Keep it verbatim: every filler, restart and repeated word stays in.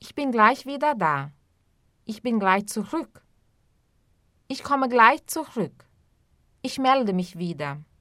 Ich bin gleich wieder da. Ich bin gleich zurück. Ich komme gleich zurück. Ich melde mich wieder.